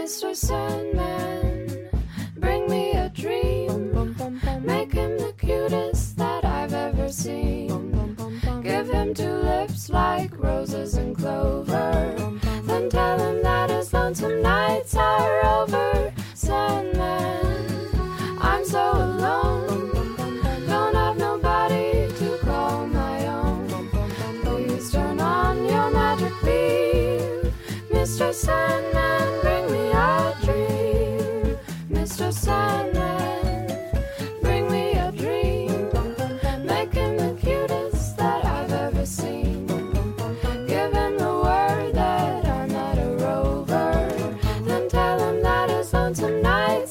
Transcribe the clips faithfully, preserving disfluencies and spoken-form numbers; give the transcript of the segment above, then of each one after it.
Mister Sandman, bring me a dream. Make him the cutest that I've ever seen. Give him two lips like roses and clover. Then tell him that his lonesome nights are over. Sandman, I'm so alone. Don't have nobody to call my own. Please turn on your magic beam. Mister Sandman, bring me a dream. Mister Sandman, bring me a dream. Make him the cutest that I've ever seen. Give him the word that I'm not a rover. Then tell him that his lonesome nights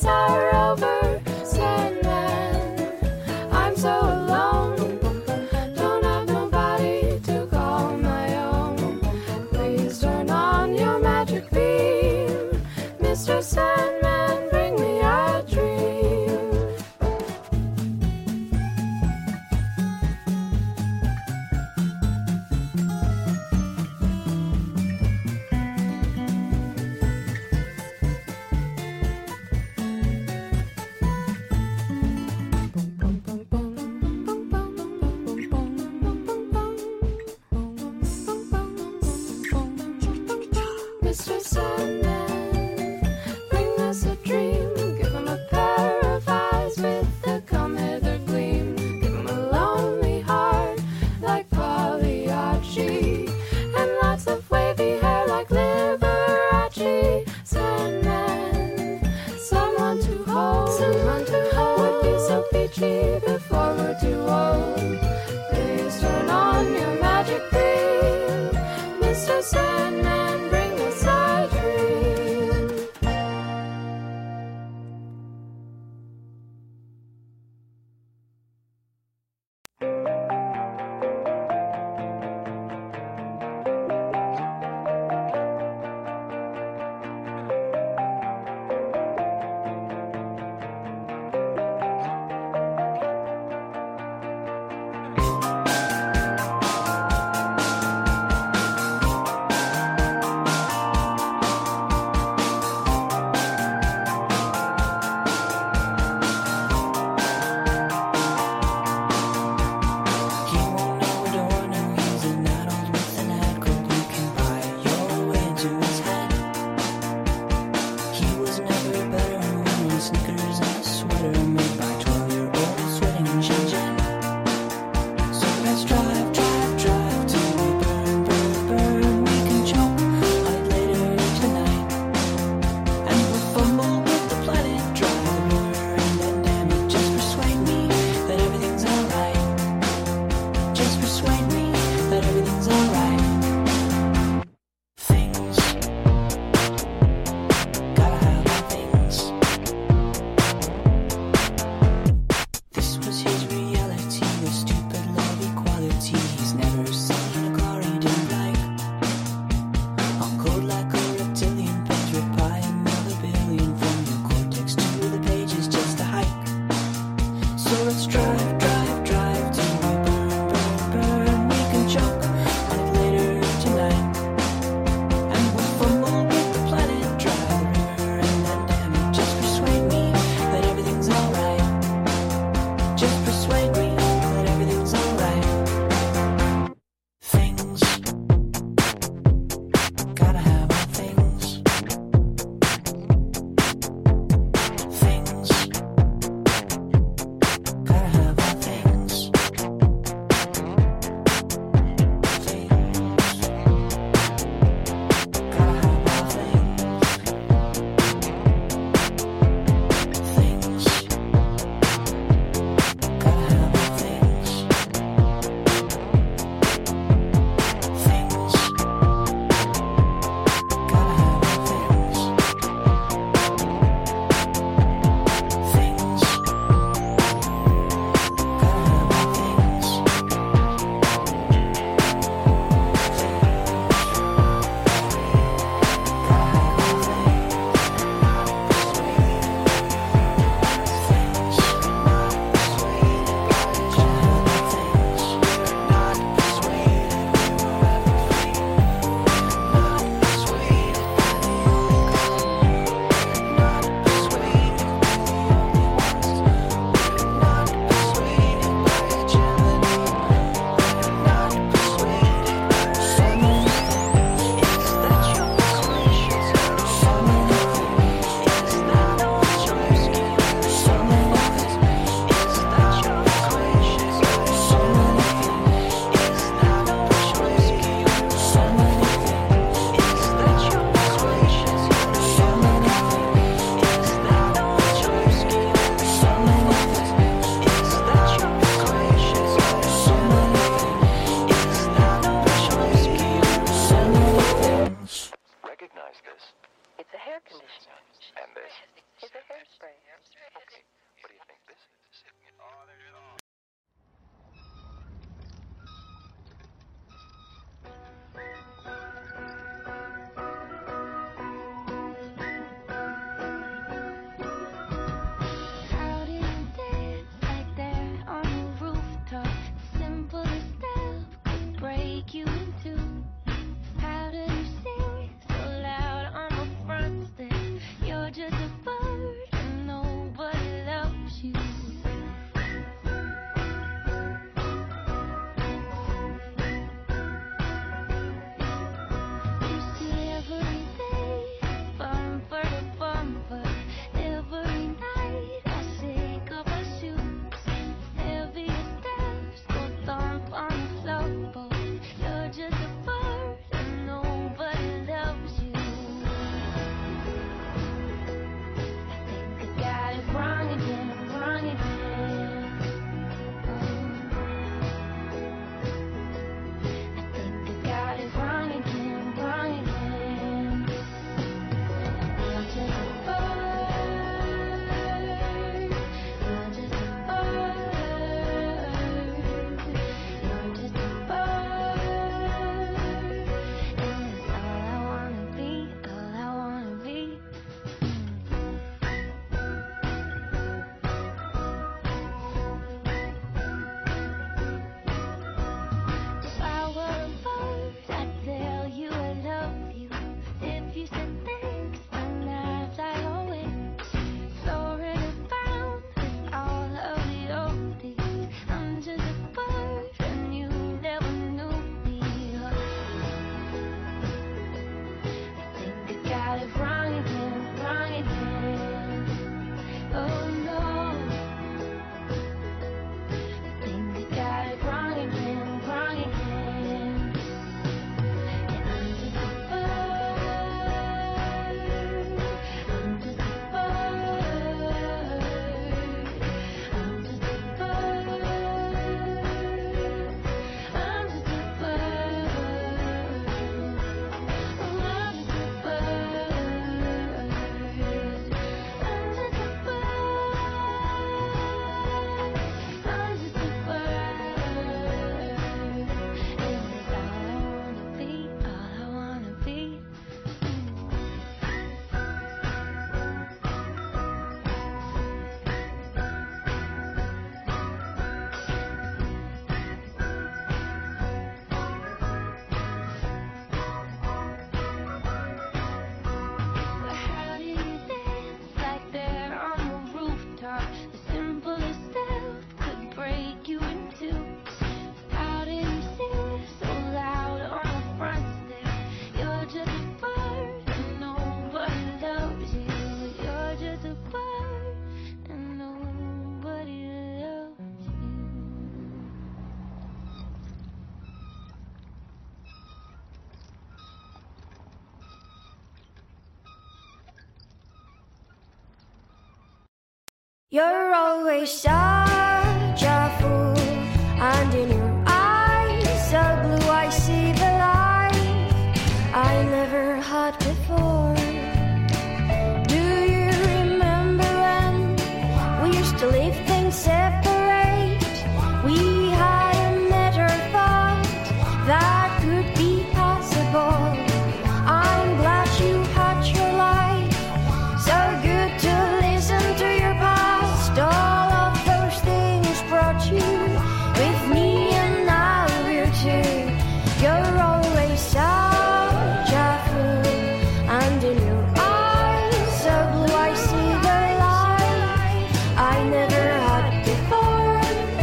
You're always such a fool, and in your eyes so blue I see the light I never had before. Do you remember when we used to leave things separate? We hadn't never thought that could be possible. I'm glad you had your life, so good to listen to your past. All of those things brought you with me, and now we're two. You're always such a fool, and in your eyes so blue I see the light I never had before.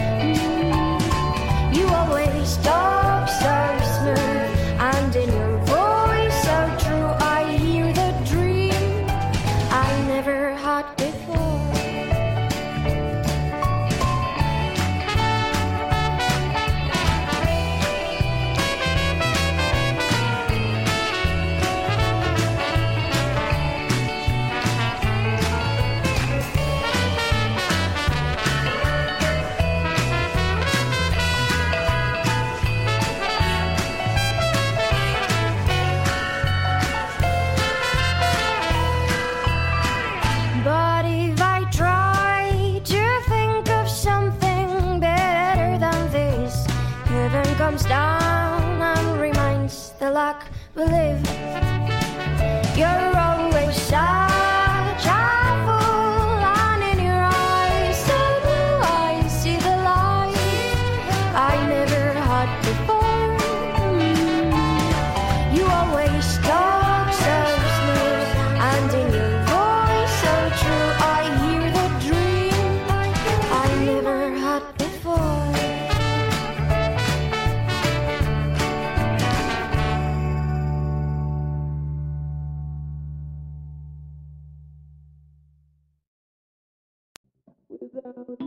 Mm. You always talk so smooth, and in your voice so true I hear the dream I never had before. But if I try to think of something better than this, heaven comes down and reminds the luck we live. You're always such a fool, and in your eyes so blue I see the light I never had before. Mm. You always talk so smooth, and in your voice so true I hear the dream I never had before. Without